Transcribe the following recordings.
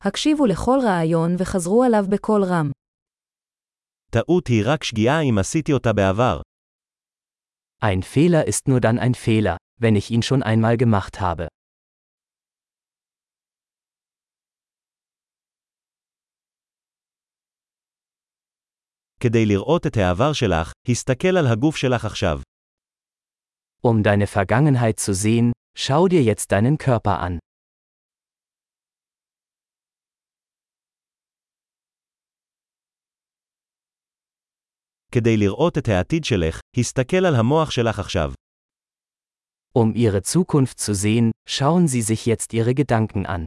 הקשיבו לכל רעיון וחזרו עליו בקול רם. טעות היא רק שגיאה אם עשיתי אותה בעבר. Ein Fehler ist nur dann ein Fehler, wenn ich ihn schon einmal gemacht habe. כדי לראות את העבר שלך, הסתכל על הגוף שלך עכשיו. Um deine Vergangenheit zu sehen, schau dir jetzt deinen Körper an. כדי לראות את העתיד שלך, הסתכל על המוח שלך עכשיו. Um ihre Zukunft zu sehen, schauen Sie sich jetzt Ihre Gedanken an.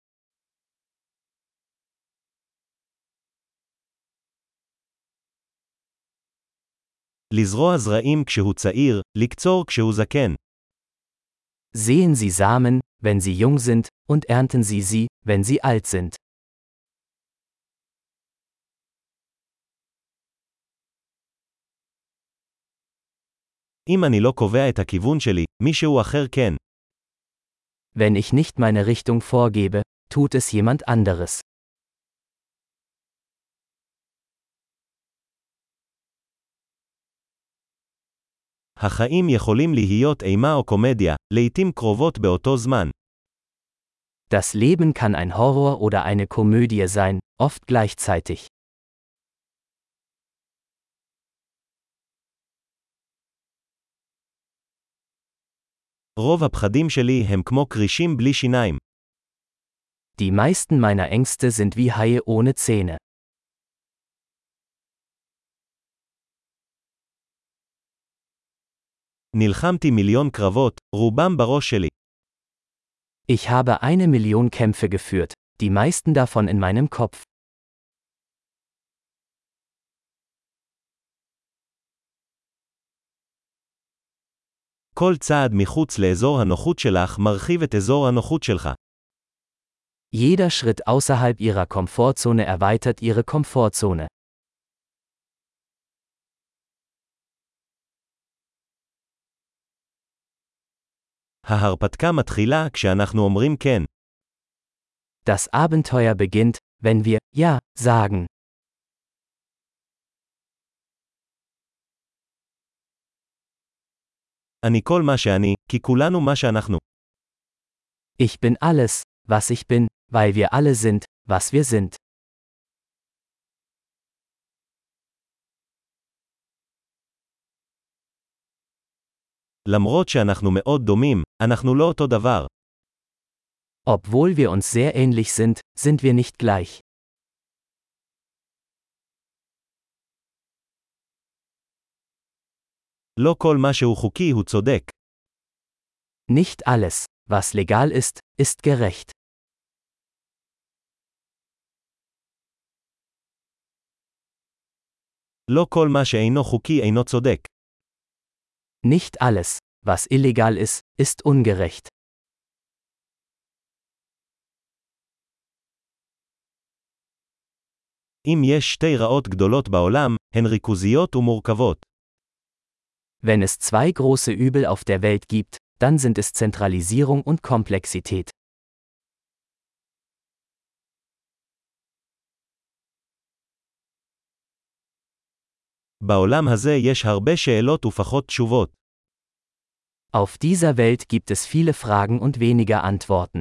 לזרוע זרעים כשהוא צעיר, לקצור כשהוא זקן. Sehen Sie Samen, wenn sie jung sind, und ernten Sie sie, wenn sie alt sind. אם אני לא קובע את הכיוון שלי, מישהו אחר כן. Wenn ich nicht meine Richtung vorgebe, tut es jemand anderes. החיים יכולים להיות אימה או קומדיה, לעתים קרובות באותו זמן. Das Leben kann ein Horror oder eine Komödie sein, oft gleichzeitig. רוב הפחדים שלי הם כמו קרישים בלי שיניים. Die meisten meiner Ängste sind wie Haie ohne Zähne. נלחמתי מיליון קרבות, רובם בראש שלי. Ich habe 1 Million Kämpfe geführt, die meisten davon in meinem Kopf. כל צעד מחוץ לאזור הנוחות שלך מרחיב את אזור הנוחות שלך. Jeder Schritt außerhalb Ihrer Komfortzone erweitert Ihre Komfortzone. ההרפתקה מתחילה כשאנחנו אומרים כן. Das Abenteuer beginnt, wenn wir Ja sagen. אני כל מה שאני, כי כולנו מה שאנחנו. Ich bin alles, was ich bin, weil wir alle sind, was wir sind. למרות שאנחנו מאוד דומים, אנחנו לא אותו דבר. Obwohl wir uns sehr ähnlich sind wir nicht gleich. לא כל מה שהוא חוקי הוא צודק. Nicht alles, was legal ist gerecht. לא כל מה שאינו חוקי אינו צודק. Nicht alles, was illegal ist ungerecht. אם יש שתי רעות גדולות בעולם, הן ריכוזיות ומורכבות. Wenn es 2 große Übel auf der Welt gibt, dann sind es Zentralisierung und Komplexität. בעולם הזה יש הרבה שאלות ופחות תשובות. Auf dieser Welt gibt es viele Fragen und weniger Antworten.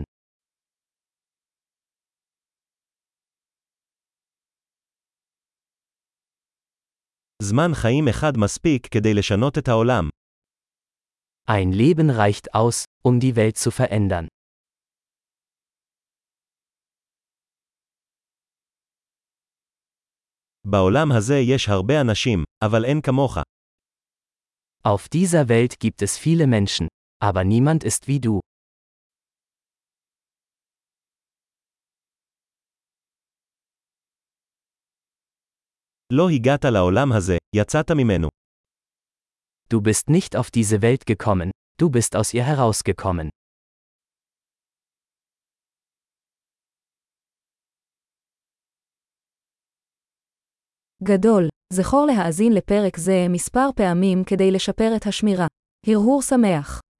זמן חיים אחד מספיק כדי לשנות את העולם. Ein Leben reicht aus, um die Welt zu verändern. בעולם הזה יש הרבה אנשים, אבל אין כמוך. Auf dieser Welt gibt es viele Menschen, aber niemand ist wie du. לא הגעת לעולם הזה, יצאת ממנו. Du bist nicht auf diese Welt gekommen, du bist aus ihr herausgekommen. גדול, זכור להאזין לפרק זה מספר פעמים כדי לשפר את השמירה. הרהור שמח.